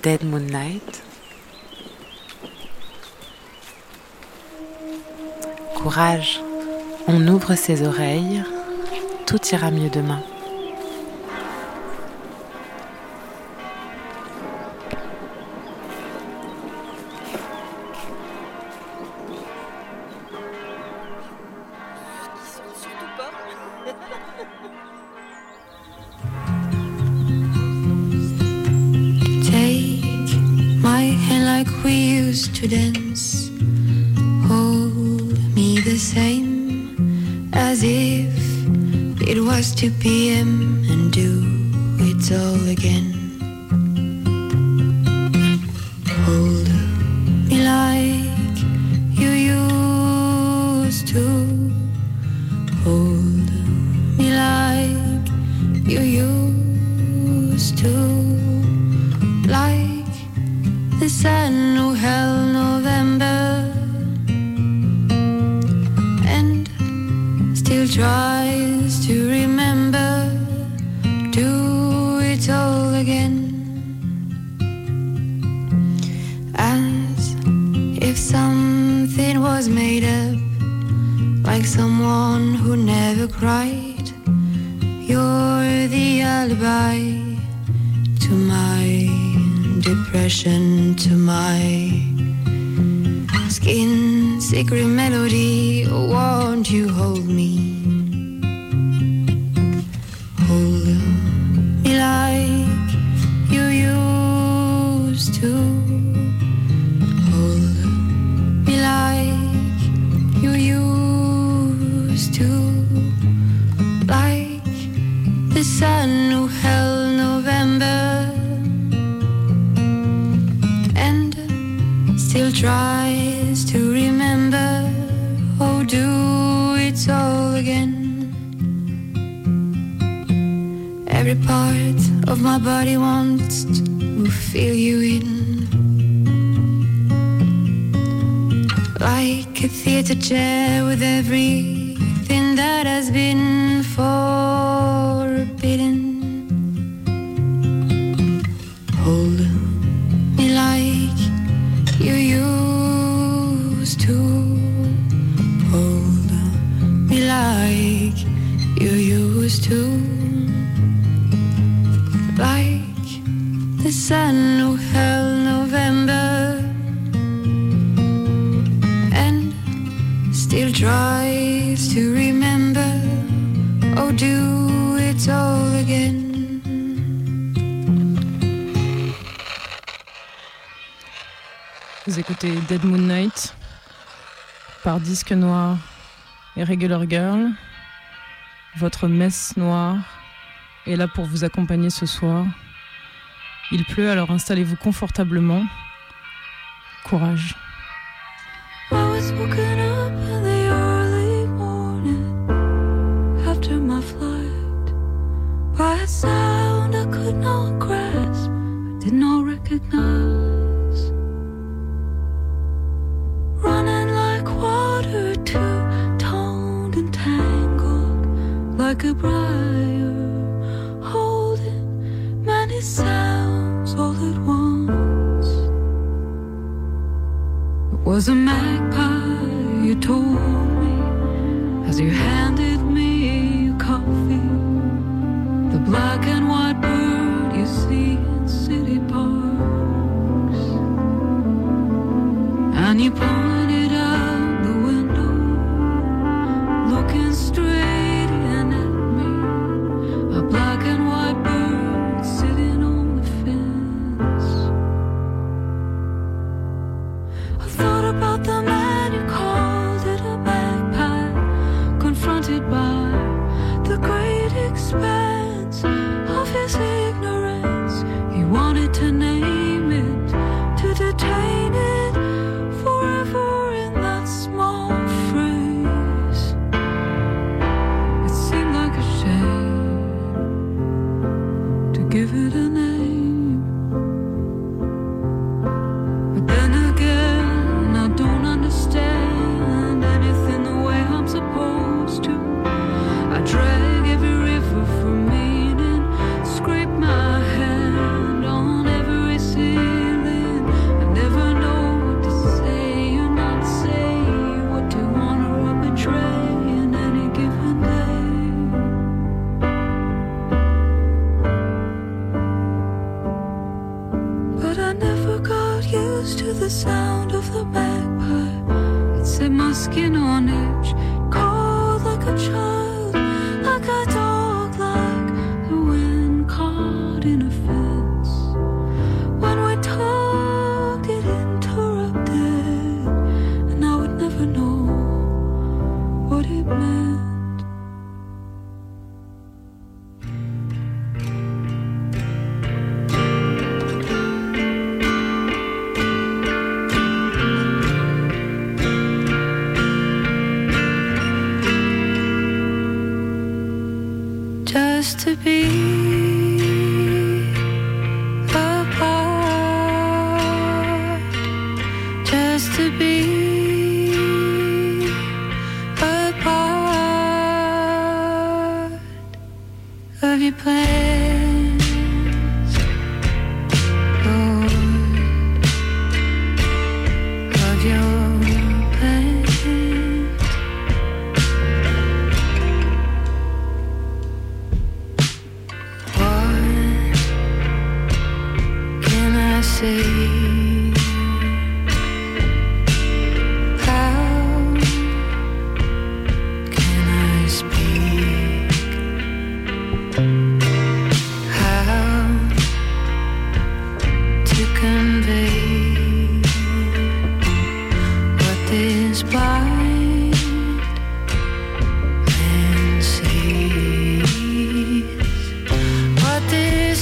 Dead Moonlight. Courage, on ouvre ses oreilles, tout ira mieux demain. Take my hand like we used to dance. Hold me the same as if it was 2 p.m. and do it all again. Hold me like you used to. Hold me like you used to. Like the sun who held November and still tries to remember. Do it all again. As if something was made up, like someone who never cried. You're the alibi to my depression, to my skin secret melody. Won't you hold me? Hold me like you used to. Hold me like you used to. Like the sun who held November and still tries to remember. Oh, do it all again. Every part of my body wants to feel you in. Like a theater chair with everything that has been forbidden. Hold me like you used to. Hold me like you used to. Like the sun who held November and still tries to remember. Oh, do it all again. Vous écoutez Dead Moonlight par Disque Noir et Regular Girl. Votre messe noire est là pour vous accompagner ce soir. Il pleut, alors installez-vous confortablement. Courage. I was woken up in the early morning after my flight by a sound I could not grasp, I did not recognize. Running like water, two-toned and tangled like a briar, holding many sounds all at once. It was a magpie, you told me, as you handed me your coffee. The black and white bird you see in city parks. And you pointed out the window, looking straight in at me. A black and white bird sitting on the fence. I thought about the man who called it a magpie, confronted by the great expanse of his ignorance. He wanted to name it, to detain it forever in that small phrase. It seemed like a shame to give it a name. But then again, I don't understand anything the way I'm supposed to. I drag every river for meaning, scrape my hand on every close to the sound of the bagpipe. It set my skin on edge, cold like a child, like a dog, like the wind caught in a fence. When we talked, it interrupted, and I would never know what it meant. Just to be apart, just to be apart of your plans, Lord, of your plans. Say, how can I speak? How to convey what this blind man sees, what this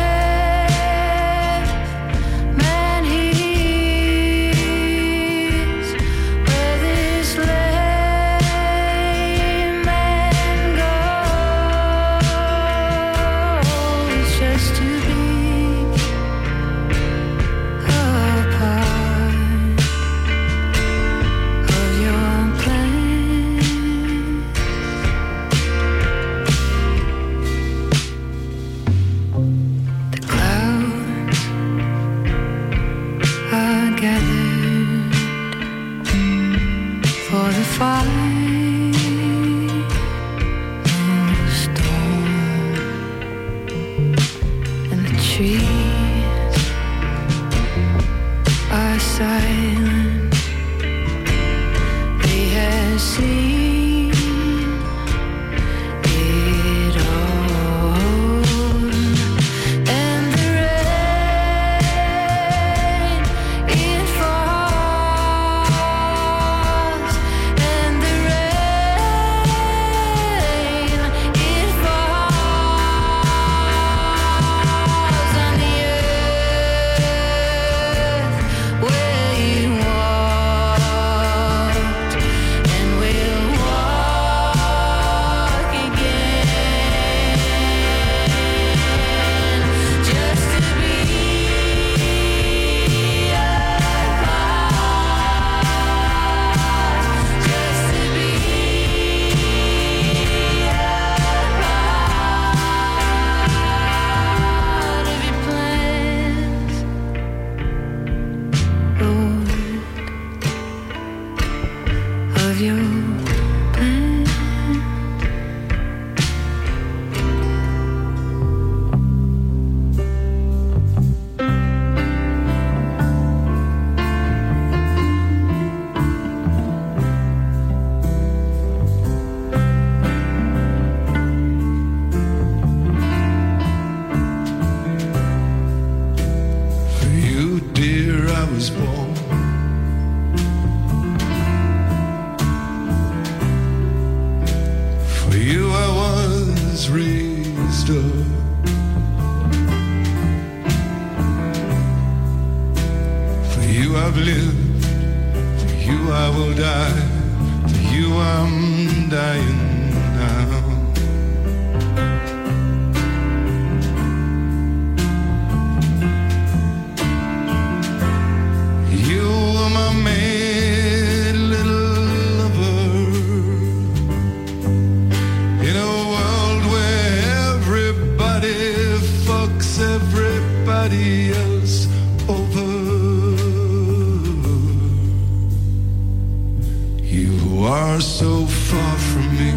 are so far from me.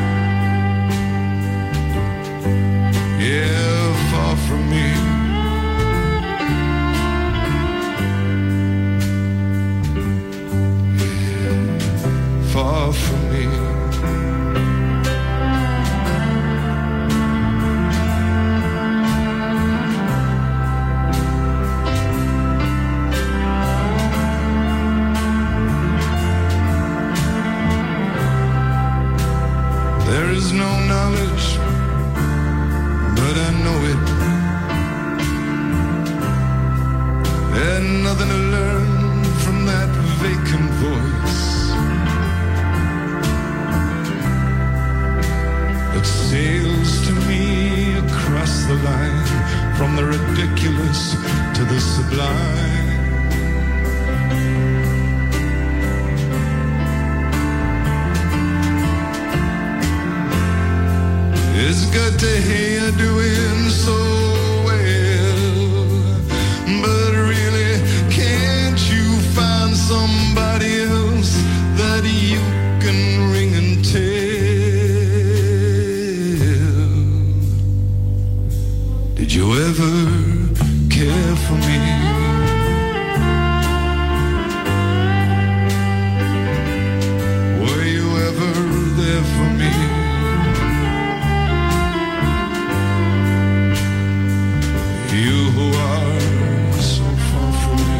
Yeah, far from me. nothing to learn from that vacant voice that sails to me across the line from the ridiculous to the sublime. It's good to hear you're doing so well, but really, can't you find somebody else that you can ring and tell? Did you ever care for me? Were you ever there for me? You who are so far from me.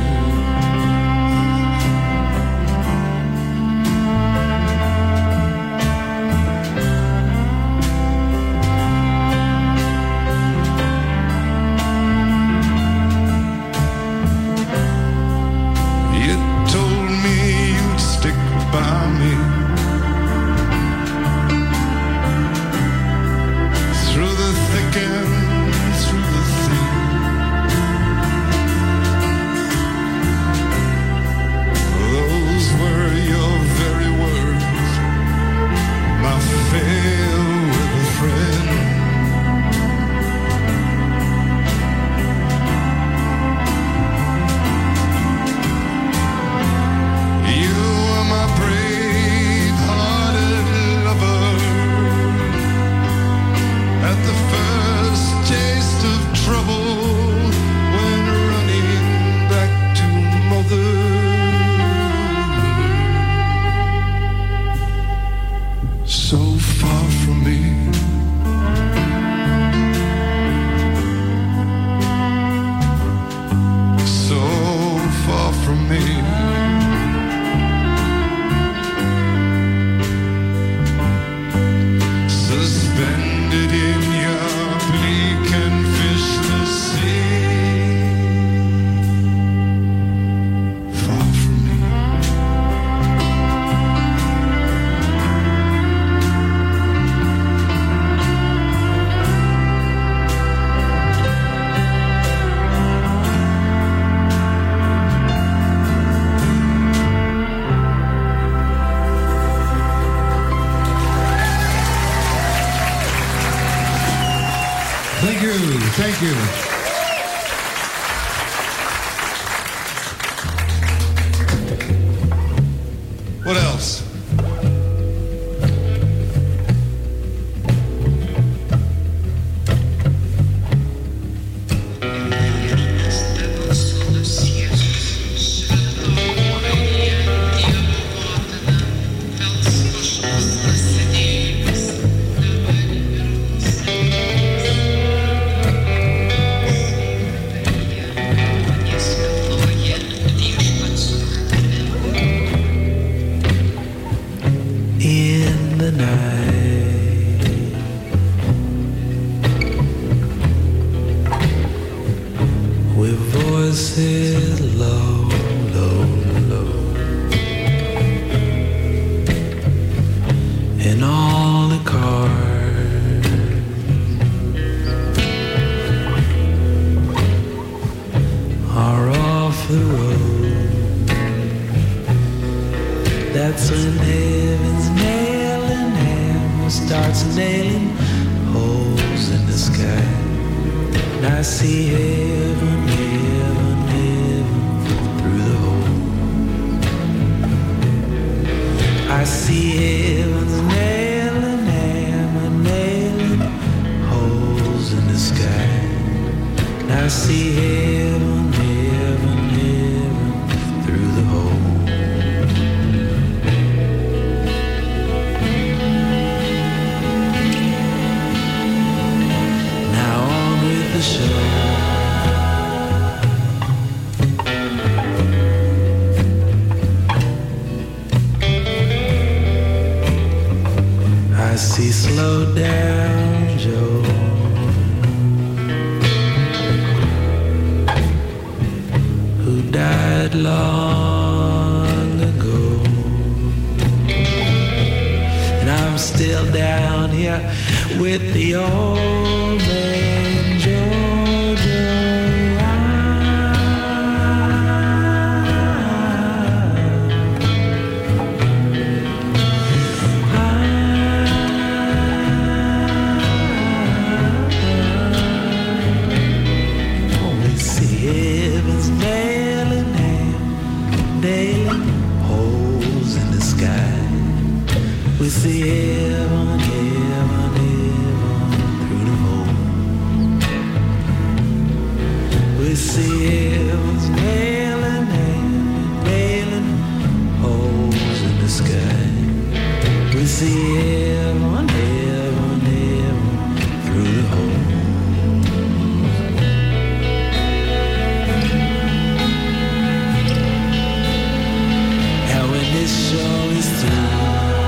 You told me you'd stick by me through the thick and through the thin. Those were your very words, my fair weather friend. You were my brave-hearted lover at the first taste of trouble when running back to mother. So far from me. So far from me. Suspended in your bleak and fishless sea. Far from me. Thank you, thank you. What else? In the night, with voices low, low, low, and all the cars are off the road. That's when heaven's nailing hammer starts nailing holes in the sky. And I see heaven, heaven, heaven through the hole. I see heaven's nailing hammer nailing holes in the sky. And I see heaven, heaven, heaven through the hole. The show. I see slow down Joe, who died long ago. And I'm still down here with the old man Georgia. Heaven's nailing holes in the sky. We see heaven, heaven, heaven through the hole. We see heaven's nailing holes in the sky. We see heaven, heaven, heaven through the hole. This show is through.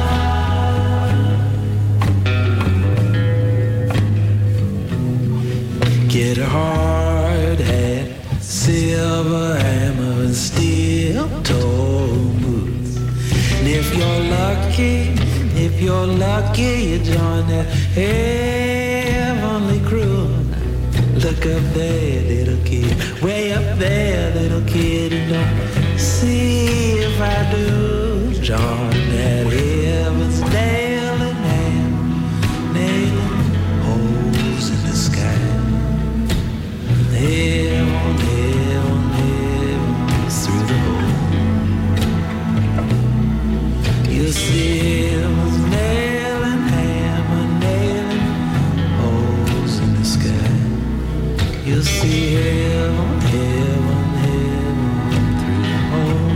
Get a hard hat, silver hammer, and steel toe boots. And if you're lucky, you join that heavenly crew. Look up there, little kid, way up there, little kid, and don't see if I do. John, that heaven's nailing holes in the sky. Heaven, heaven, heaven through the hole. You'll see heaven's nailing holes in the sky. You'll see heaven, heaven, heaven through the hole.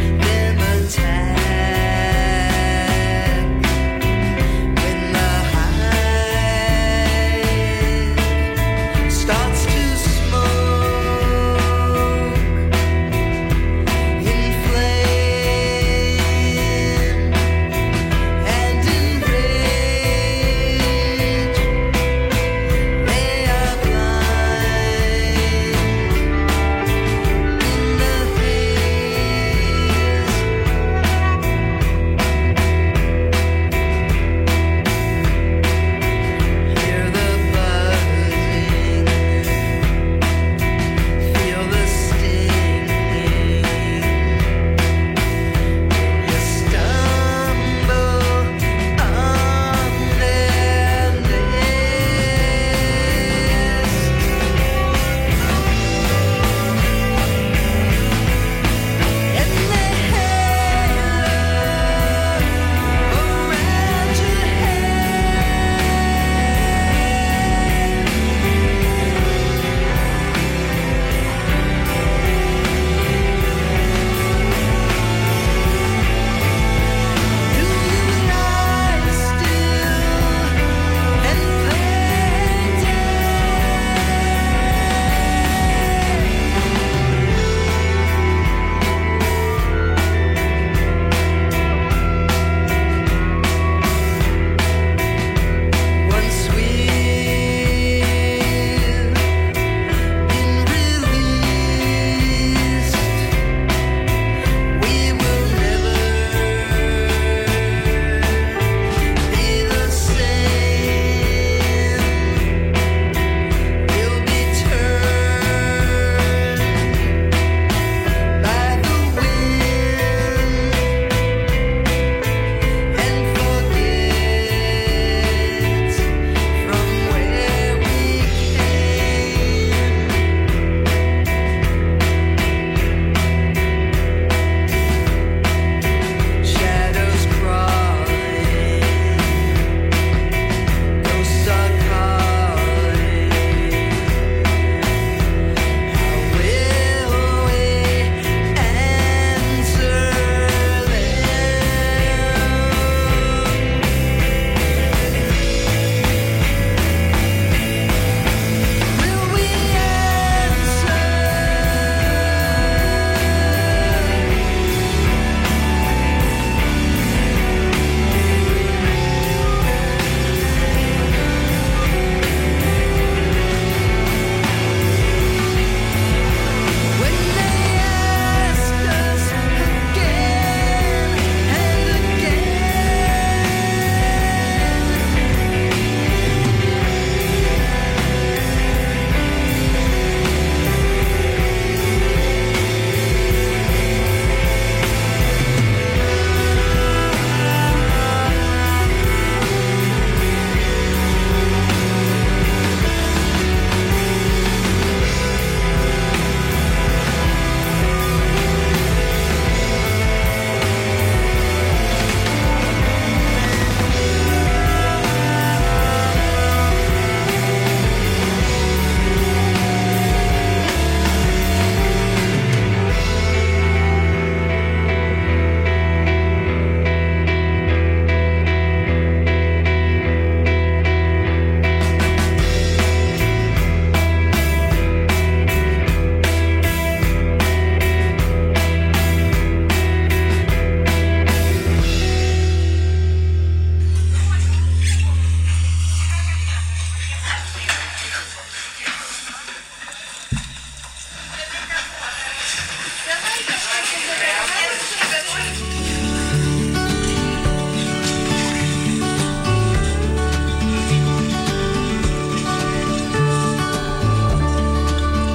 When the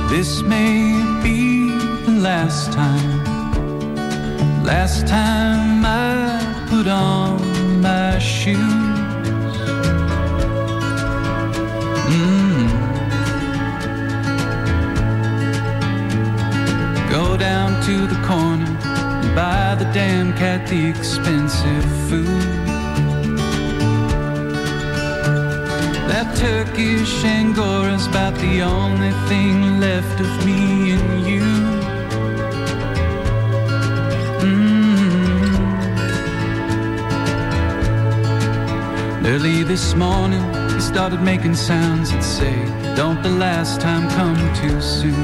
This may be the last time I put on my shoes. Go down to the corner and buy the damn cat the expensive food. That Turkish Angora's about the only thing left of me and you. Early this morning, he started making sounds that say, don't the last time come too soon.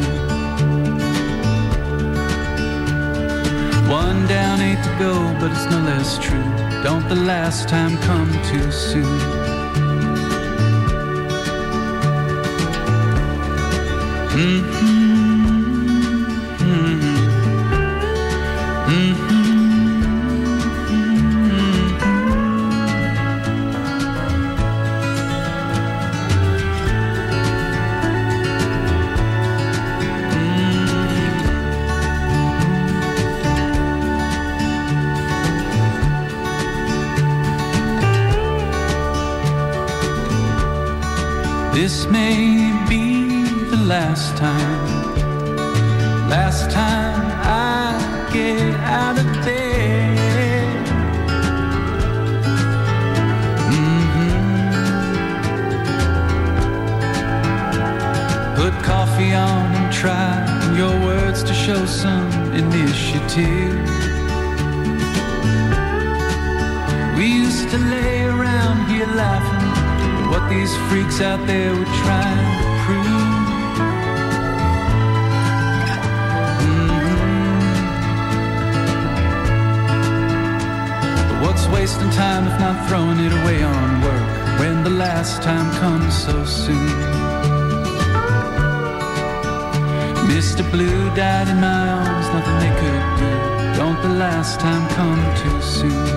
One down, 8 to go, but it's no less true. Don't the last time come too soon. This may be the last time I get out of bed. Put coffee on and try your words to show some initiative. We used to lay around here laughing at what these freaks out there were trying to prove. But what's wasting time if not throwing it away on work when the last time comes so soon? Mr. Blue died in my arms, nothing they could do. Don't the last time come too soon?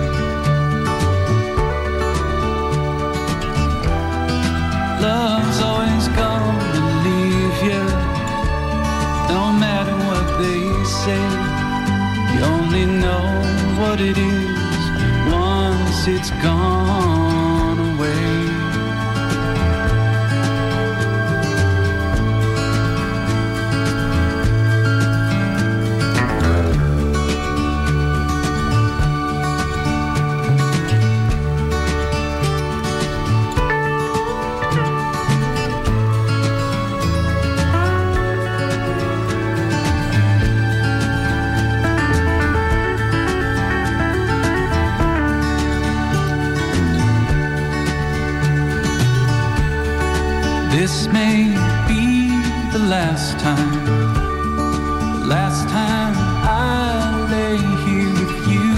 Love's always gonna leave you, no matter what they say. You only know what it is once it's gone away. This may be the last time I lay here with you.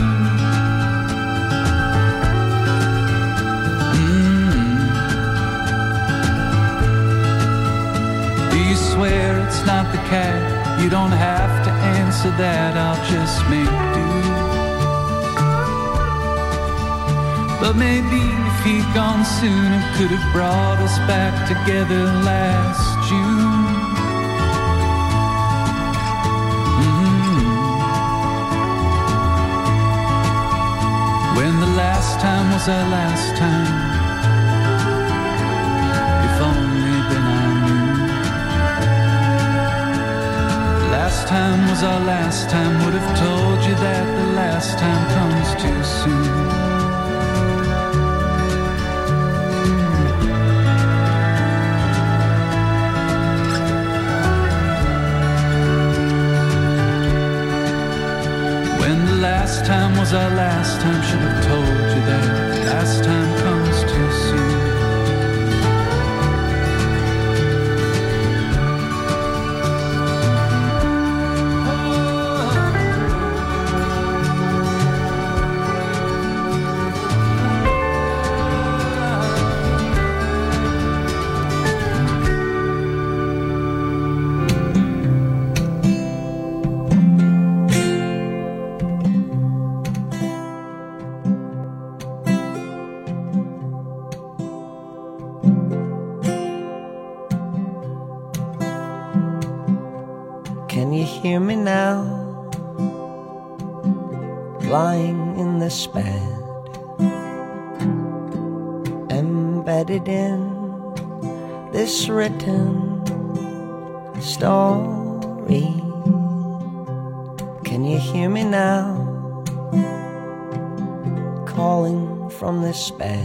Do you swear it's not the cat? You don't have to answer that, I'll just make do. But maybe if he'd gone sooner, could have brought us back together last June. When the last time was our last time, if only then I knew. The last time was our last time, would have told you that the last time comes too soon. Last time was our last time, should have told you that last time comes too soon. Can you hear me now? Lying in this bed, embedded in this written story. Can you hear me now? Calling from this bed,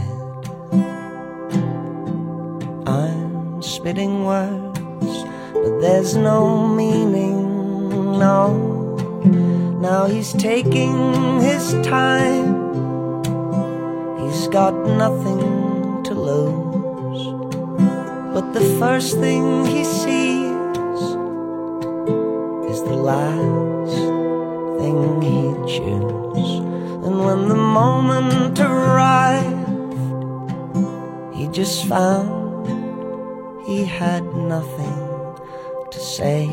I'm spitting words, but there's no meaning, no. Now he's taking his time, he's got nothing to lose. But the first thing he sees is the last thing he'd choose. And when the moment arrived, he just found he had nothing to say.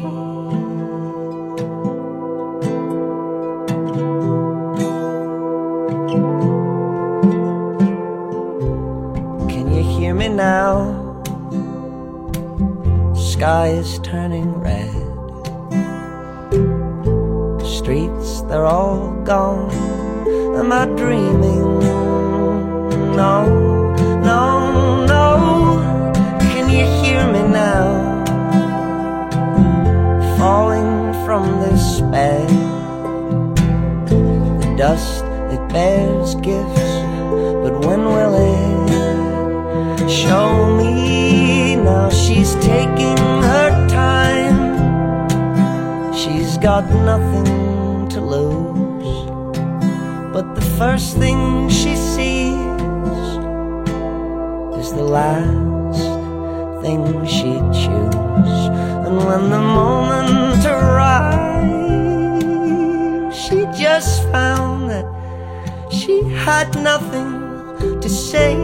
Can you hear me now? Sky is turning red, streets, they're all gone. Am I dreaming? No, no, no. Can you hear me now? Falling from this bed, the dust, it bears gifts, but when will it show me? Now she's taking her time, she's got nothing to lose. But the first thing she sees is the last thing she'd choose. And when the moment arrived, she just found that she had nothing to say.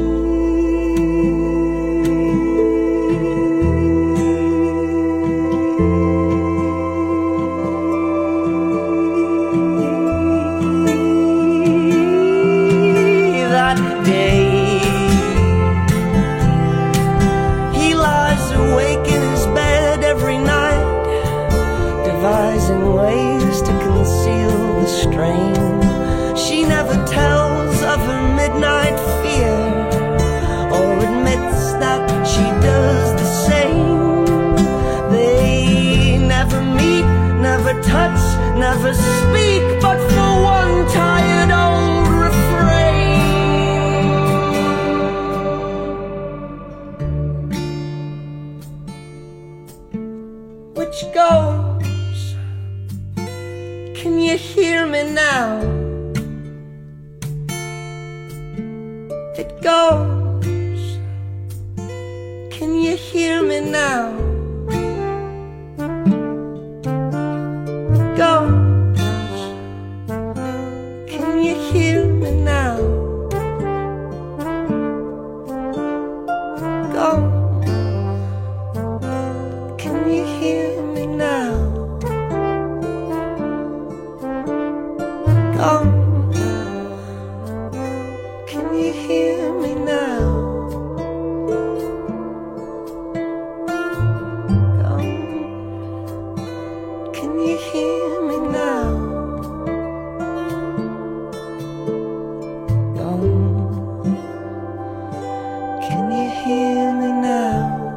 She never tells of her midnight fear, or admits that she does the same. They never meet, never touch, never speak, but for one tired old refrain. Which goes, can you hear me now? It goes, can you hear me now? It goes, can you hear me now? It goes, can you hear me now? It goes, can you hear me now? Come, can you hear me now? Come, can you hear me now?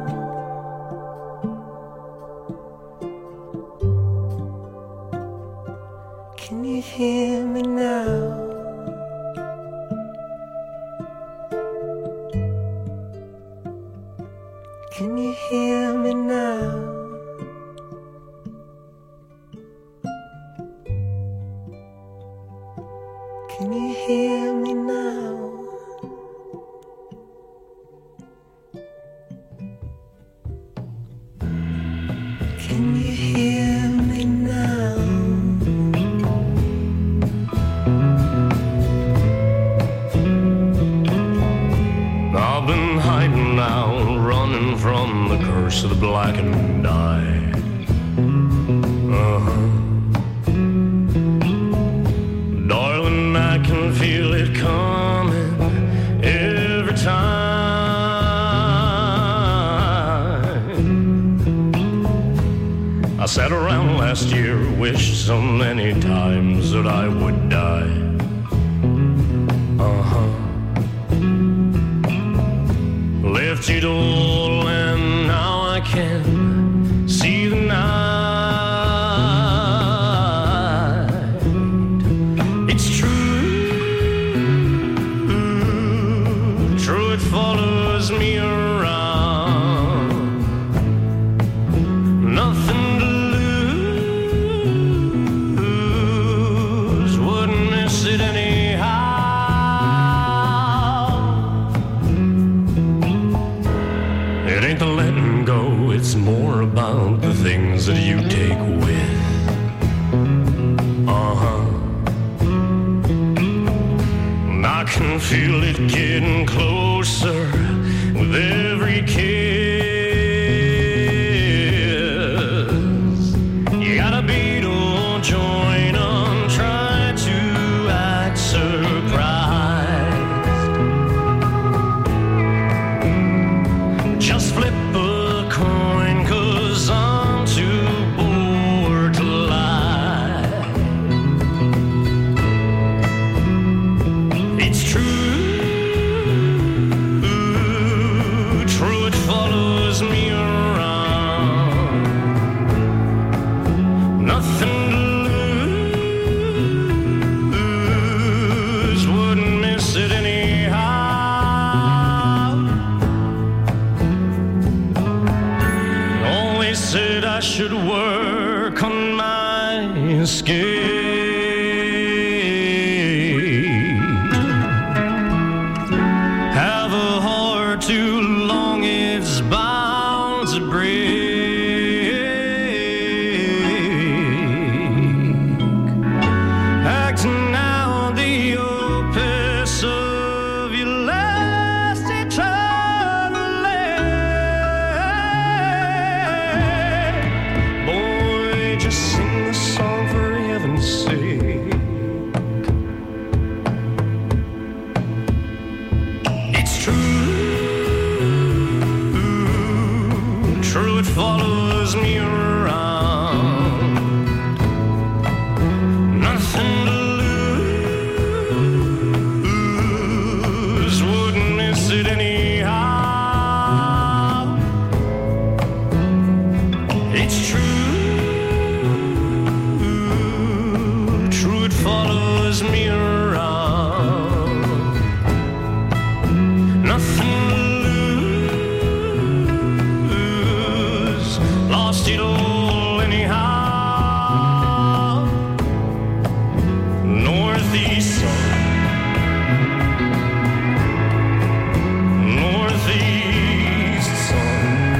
Can you hear me now? Can you hear me now? Can you hear me now? Can you hear me now? I've been hiding now, running from the curse of the black and eye. Darling, I can feel it coming every time. I I sat around last year, wished so many times that I would die. Left it all and now I can see the night. It's true, true it follows me around. Nothing to lose, wouldn't miss it anyhow. It ain't the letting go, it's more about the things that you take with. And I can feel it getting closer with every kiss. You gotta be to join on, try to act surprised. Just flip a coin, 'cause I'm too bored to lie. It's true, true it follows me around. Nothing to lose, wouldn't miss it anyhow. Always said I should work on my escape. Have a heart too long, it's bound to break. Acting out the opus of your last eternally. Boy, just sing the song for heaven's sake. It's true, true it follows me around. Nothing to lose, wouldn't miss it anyhow. It's true, true it follows me around. Nothing to lose, lost it all anyhow. Northeast sun, northeast sun,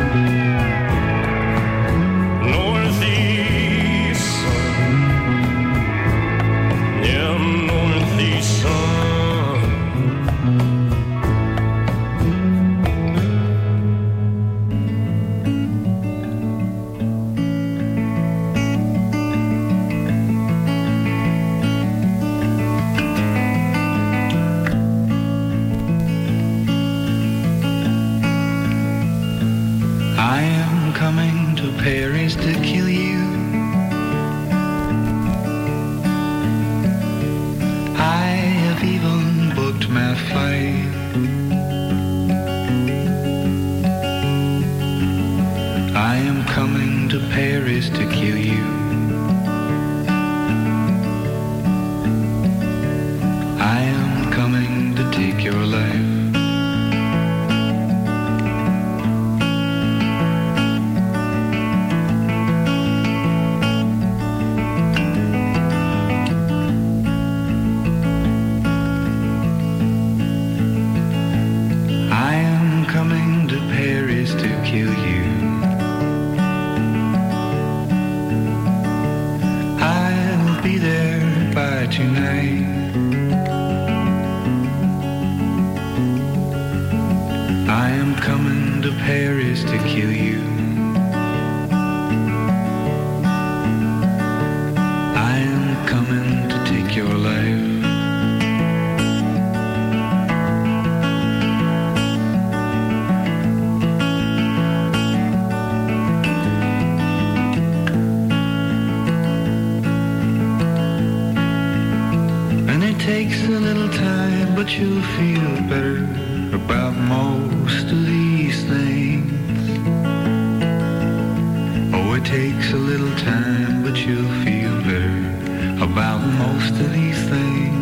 northeast sun, yeah, northeast sun. I am coming to Paris to kill you. I have even booked my flight. I am coming to Paris to kill you. I am coming to take your life. I am coming to Paris to kill you. I'll be there by tonight. I am coming to Paris to kill you. I am coming to take your life. takes a little time, but you'll feel better about most of these things. Oh, it takes a little time, but you'll feel better about most of these things.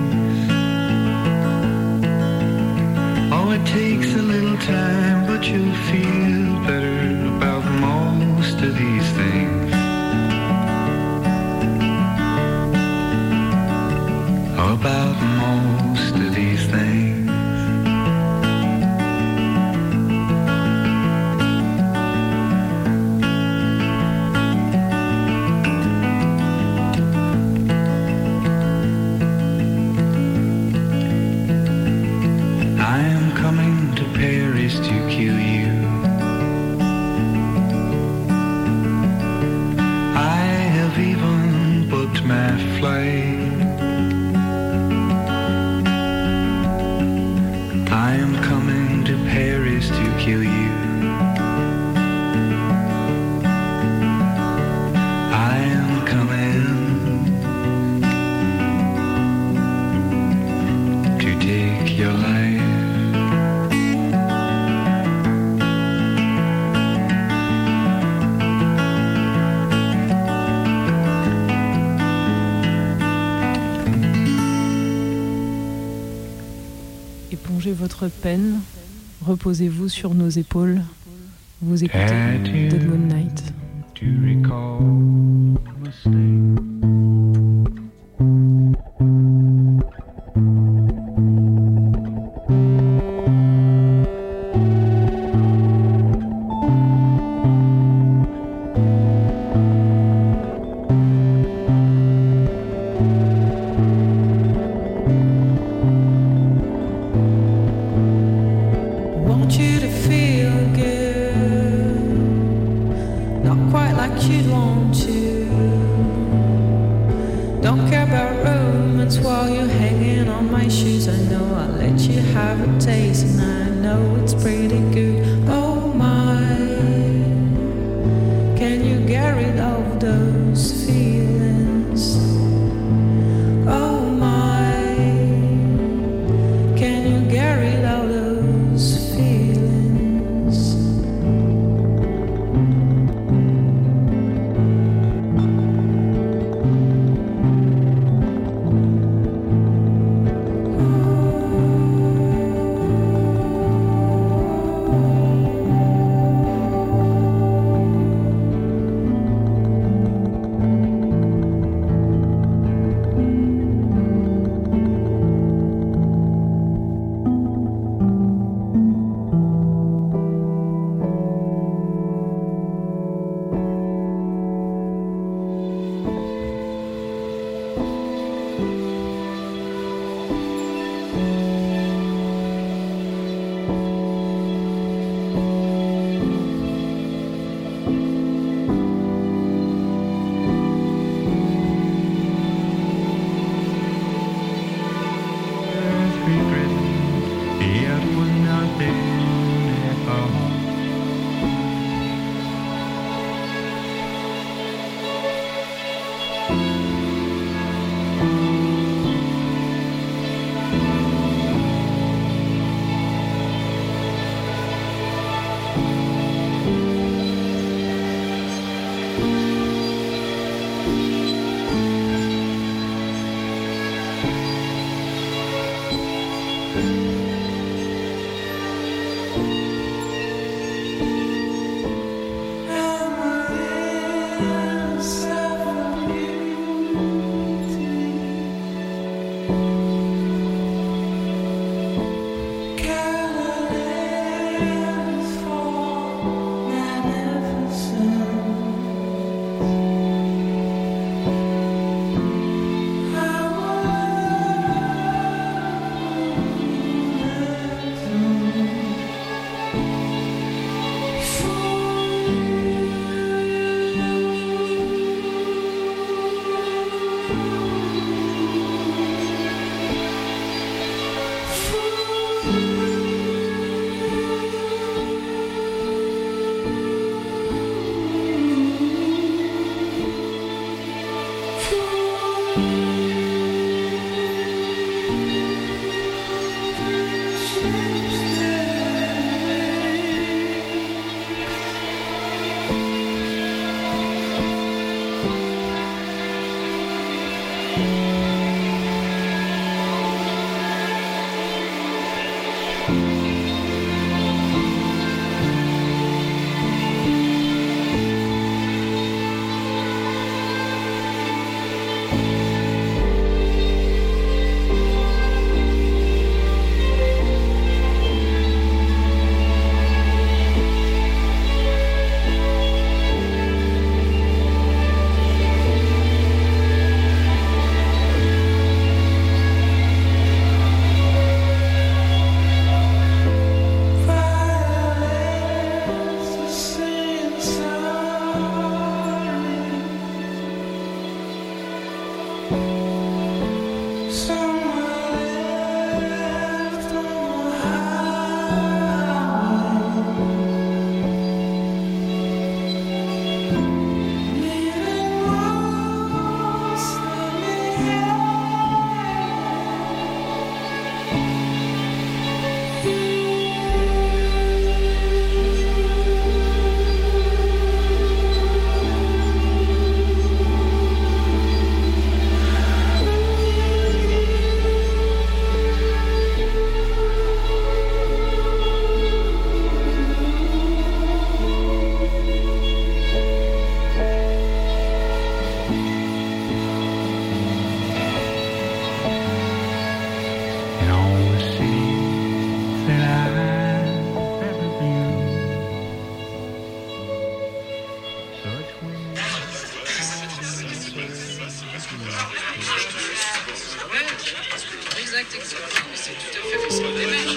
Oh, it takes a little time, but you'll feel better about most of these things. About most of these things. I am coming to Paris to kill you. I have even booked my flight. I am coming to Paris to kill you. I am coming to take your life. Épongez votre peine, reposez-vous sur nos épaules. Vous écoutez Dead Moon Night. To recall mistake. Want you to feel good, not quite like you'd want to. Don't care about romance while you're hanging on my shoes. I know I'll let you have a taste, and I know it's pretty good. Oh my, can you get rid of those feelings? Oh my, can you get rid of those feelings? exact. C'est tout à fait façon de démarche.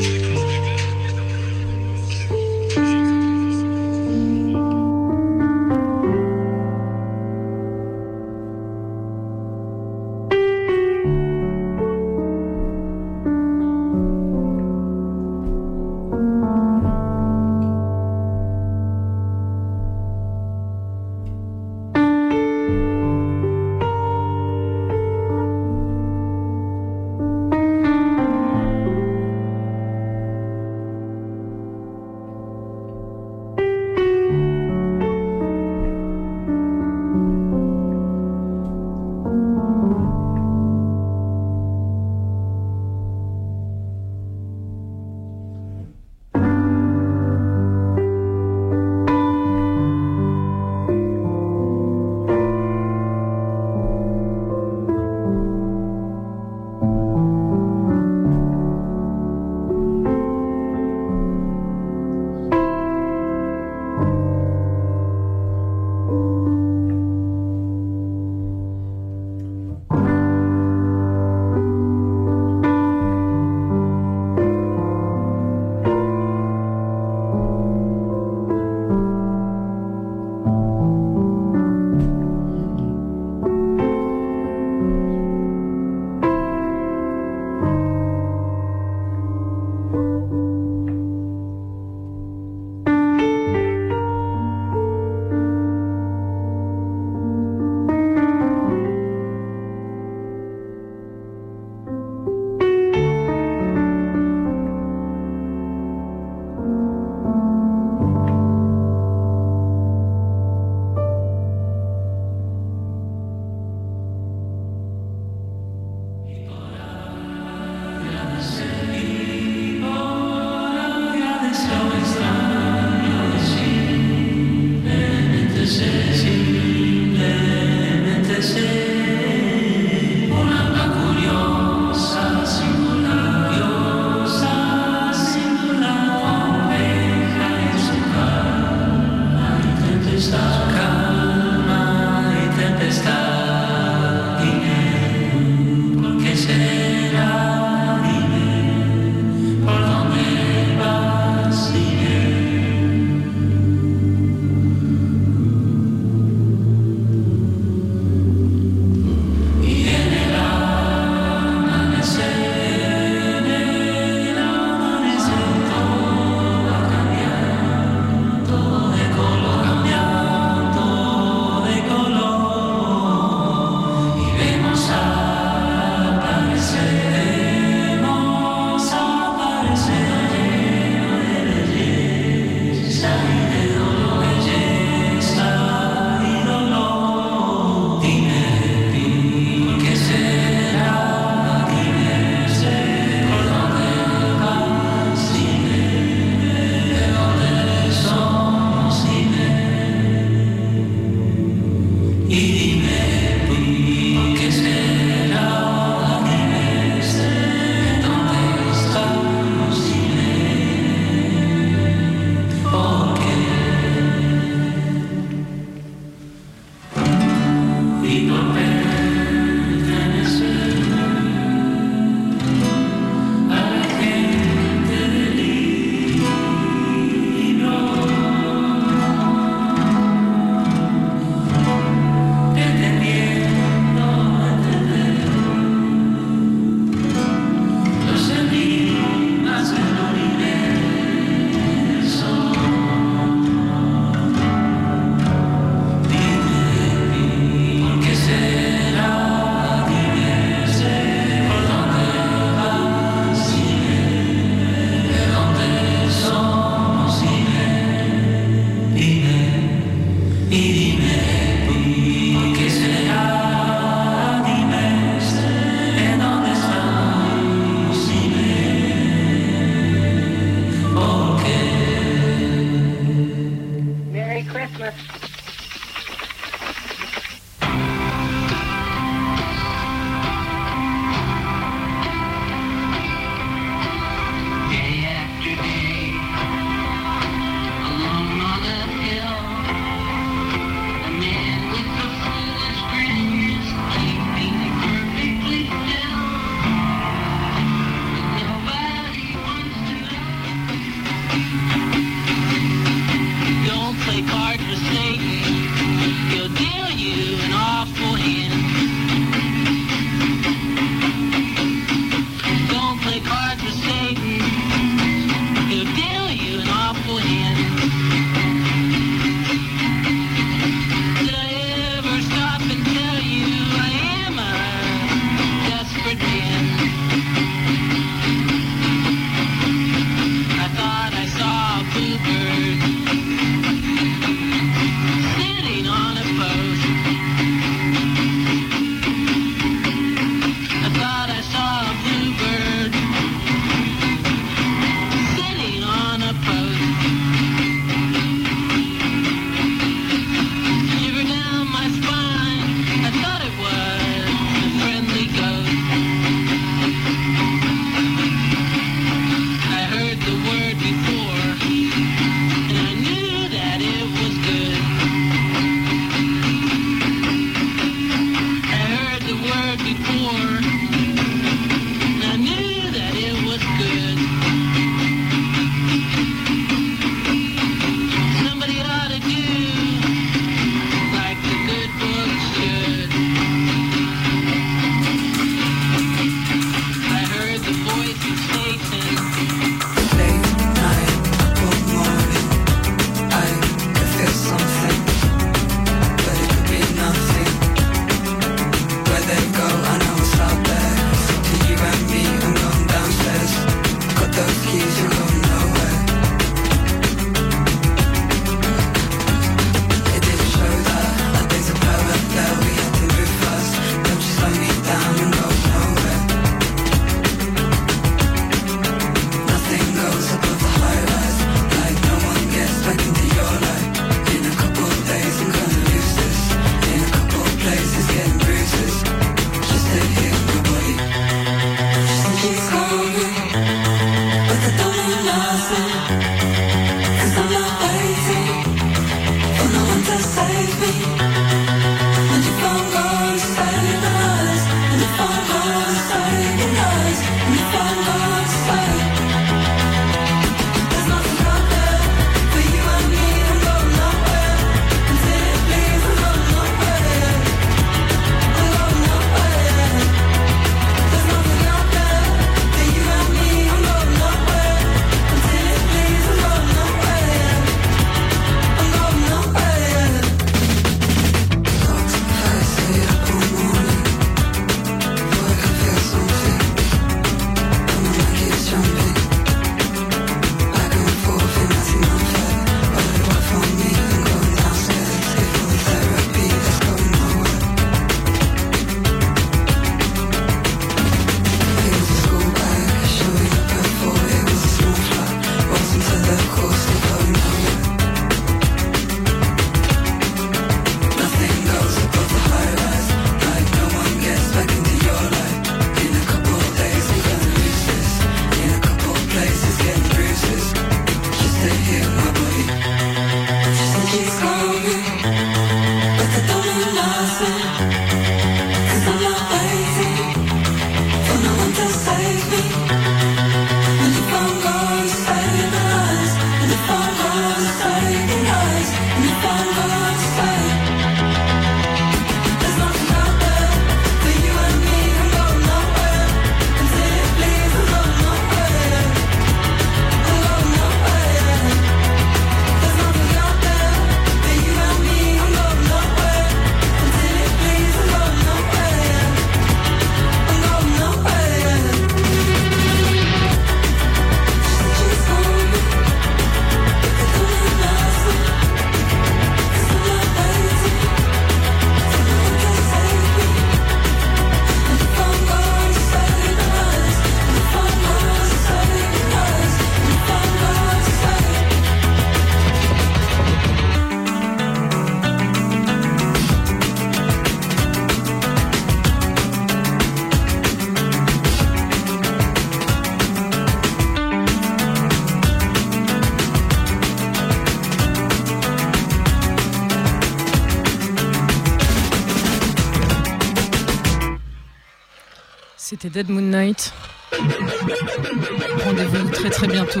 C'était Dead Moon Night. Rendez-vous très très bientôt.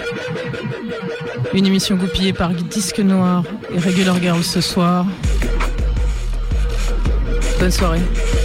Une émission goupillée par Disque Noir et Regular Girl ce soir. Bonne soirée.